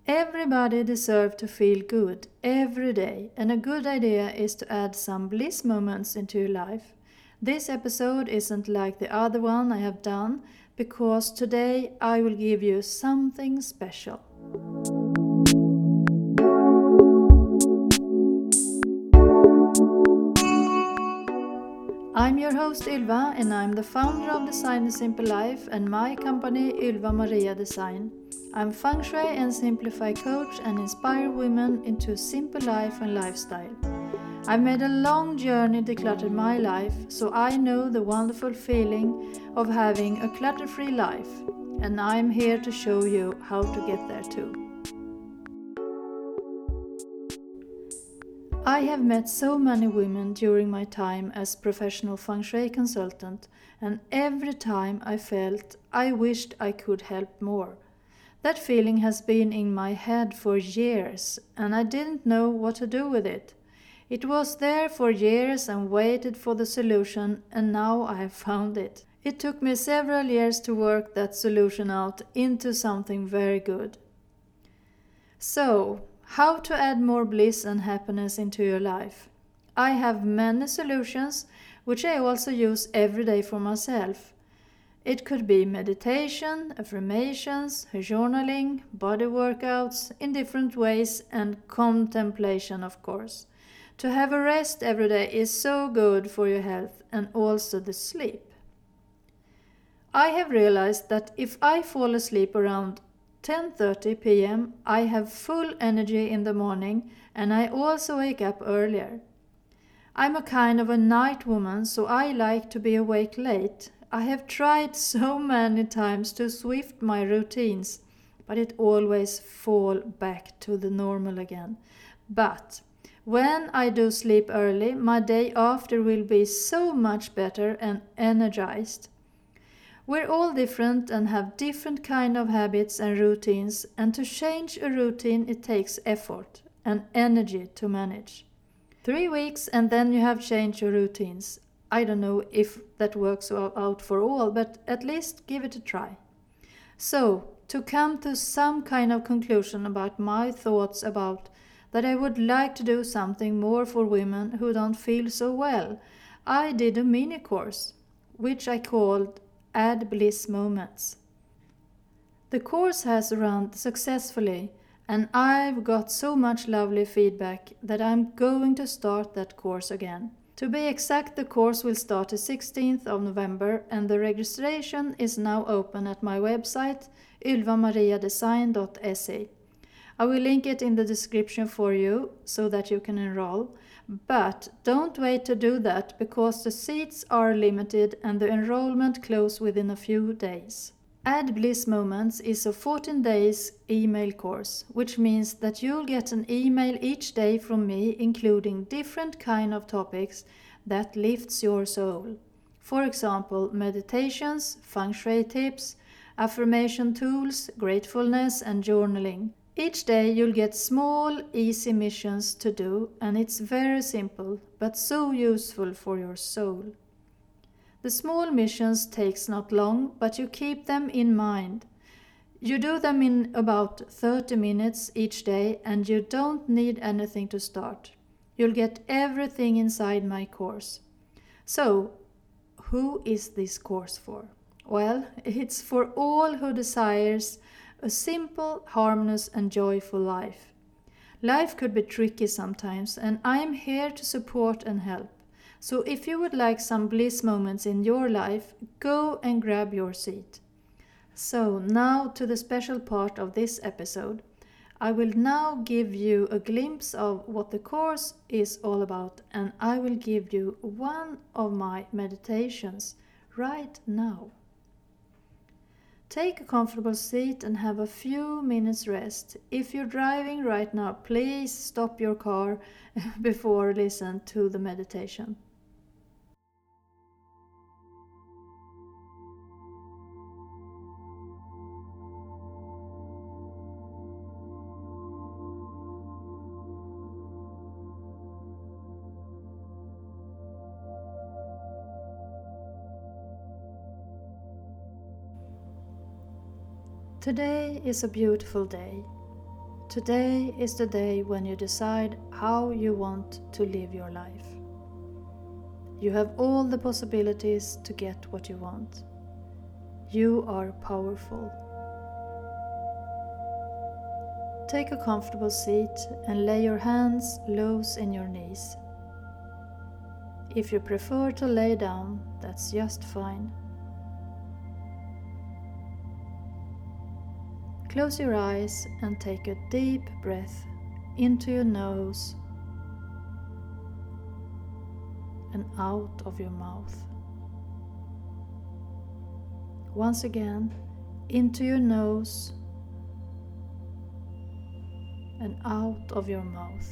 Everybody deserves to feel good every day, and a good idea is to add some bliss moments into your life. This episode isn't like the other one I have done because today I will give you something special. I'm your host Ylva, and I'm the founder of Design a Simple Life and my company Ylva Maria Design. I'm feng shui and simplify coach and inspire women into a simple life and lifestyle. I've made a long journey decluttered my life, so I know the wonderful feeling of having a clutter-free life, and I'm here to show you how to get there too. I have met so many women during my time as professional feng shui consultant, and every time I felt I wished I could help more. That feeling has been in my head for years, and I didn't know what to do with it. It was there for years and waited for the solution, and now I have found it. It took me several years to work that solution out into something very good. So, how to add more bliss and happiness into your life? I have many solutions, which I also use every day for myself. It could be meditation, affirmations, journaling, body workouts in different ways, and contemplation, of course. To have a rest every day is so good for your health and also the sleep. I have realized that if I fall asleep around 10:30 p.m. I have full energy in the morning, and I also wake up earlier. I'm a kind of a night woman, so I like to be awake late. I have tried so many times to shift my routines, but it always fall back to the normal again. But when I do sleep early, my day after will be so much better and energized. We're all different and have different kind of habits and routines, and to change a routine it takes effort and energy to manage. 3 weeks and then you have changed your routines. I don't know if that works out for all, but at least give it a try. So, to come to some kind of conclusion about my thoughts about that I would like to do something more for women who don't feel so well, I did a mini course, which I called Add Bliss Moments. The course has run successfully, and I've got so much lovely feedback that I'm going to start that course again. To be exact, the course will start the 16th of November, and the registration is now open at my website ylvamariadesign.se. I will link it in the description for you so that you can enroll. But don't wait to do that because the seats are limited and the enrollment closes within a few days. Add Bliss Moments is a 14 days email course, which means that you'll get an email each day from me including different kind of topics that lifts your soul. For example, meditations, feng shui tips, affirmation tools, gratefulness and journaling. Each day you'll get small, easy missions to do, and it's very simple, but so useful for your soul. The small missions takes not long, but you keep them in mind. You do them in about 30 minutes each day, and you don't need anything to start. You'll get everything inside my course. So, who is this course for? Well, it's for all who desires a simple, harmonious and joyful life. Life could be tricky sometimes, and I'm here to support and help. So if you would like some bliss moments in your life, go and grab your seat. So now to the special part of this episode. I will now give you a glimpse of what the course is all about, and I will give you one of my meditations right now. Take a comfortable seat and have a few minutes rest. If you're driving right now, please stop your car before listen to the meditation. Today is a beautiful day. Today is the day when you decide how you want to live your life. You have all the possibilities to get what you want. You are powerful. Take a comfortable seat and lay your hands loose in your knees. If you prefer to lay down, that's just fine. Close your eyes and take a deep breath into your nose and out of your mouth. Once again, into your nose and out of your mouth.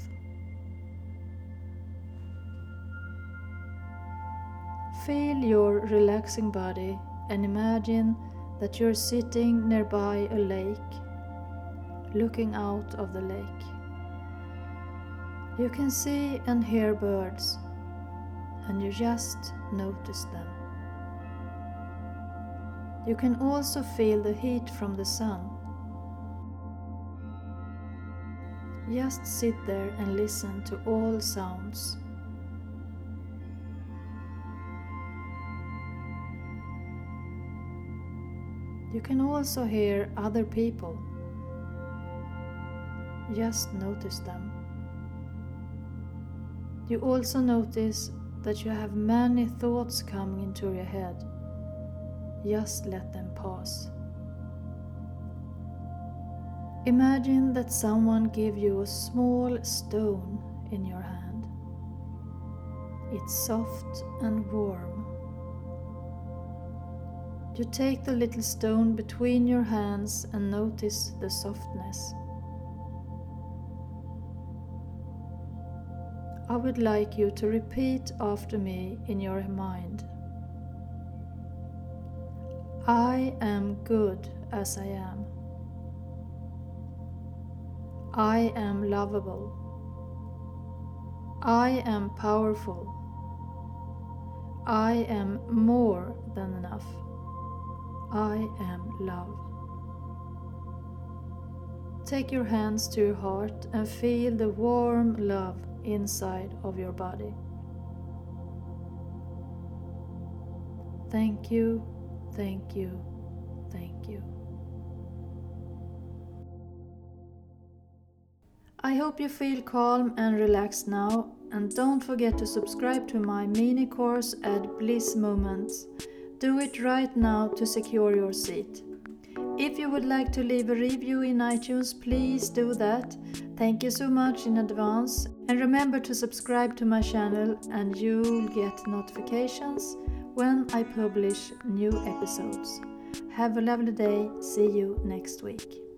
Feel your relaxing body and imagine that you're sitting nearby a lake, looking out of the lake. You can see and hear birds, and you just notice them. You can also feel the heat from the sun. Just sit there and listen to all sounds. You can also hear other people. Just notice them. You also notice that you have many thoughts coming into your head. Just let them pass. Imagine that someone gave you a small stone in your hand. It's soft and warm. You take the little stone between your hands and notice the softness. I would like you to repeat after me in your mind. I am good as I am. I am lovable. I am powerful. I am more than enough. I am love. Take your hands to your heart and feel the warm love inside of your body. Thank you, thank you, thank you. I hope you feel calm and relaxed now, and don't forget to subscribe to my mini course at Bliss Moments. Do it right now to secure your seat. If you would like to leave a review in iTunes, please do that. Thank you so much in advance. And remember to subscribe to my channel and you'll get notifications when I publish new episodes. Have a lovely day. See you next week.